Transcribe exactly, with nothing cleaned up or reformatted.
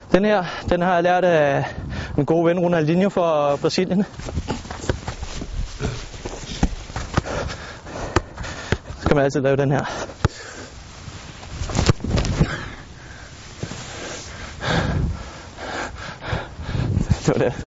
Den her, den har jeg lært af en god ven, Ronaldinho fra Brasilien. Så kan man altid lave den her. Det var det.